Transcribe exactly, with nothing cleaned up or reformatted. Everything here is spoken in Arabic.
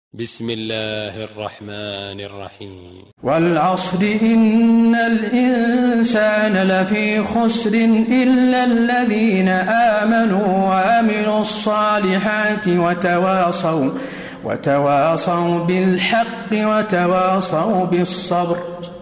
بسم الله الرحمن الرحيم. والعصر إن الإنسان لفي خسر إلا الذين آمنوا وعملوا الصالحات وتواصوا وتواصوا بالحق وتواصوا بالصبر.